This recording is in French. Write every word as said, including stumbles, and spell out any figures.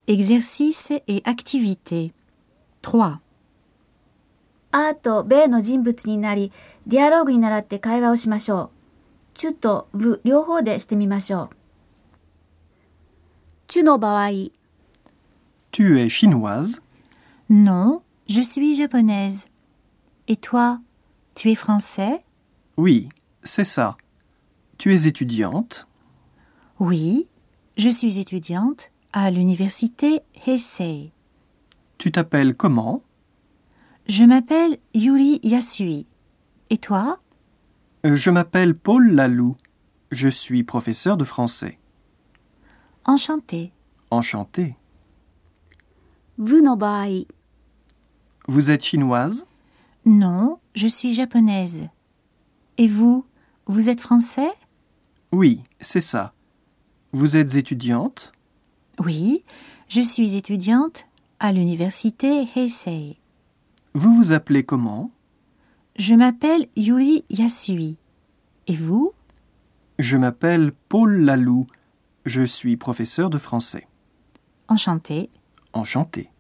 Exercice et activité. trois. あーと米の人物になり、ディアローグに倣って会話をしましょう。チュとブ両方でしてみましょう。チュの場合、 Tu es chinoise? Non, je suis japonaise. Et toi, tu es français? Oui, c'est ça. Tu es étudiante? Oui, je suis étudiante à l'université Heisei. Tu t'appelles comment? Je m'appelle Yuri Yasui. Et toi? Je m'appelle Paul Lalou. Je suis professeur de français. Enchantée. Enchanté. ブの場合、 Vous êtes chinoise? Non, je suis japonaise. Et vous, vous êtes français? Oui, c'est ça. Vous êtes étudiante? Oui, je suis étudiante à l'université Heisei. Vous vous appelez comment? Je m'appelle Yuri Yasui. Et vous? Je m'appelle Paul Lalou. Je suis professeur de français. Enchantée. Enchanté.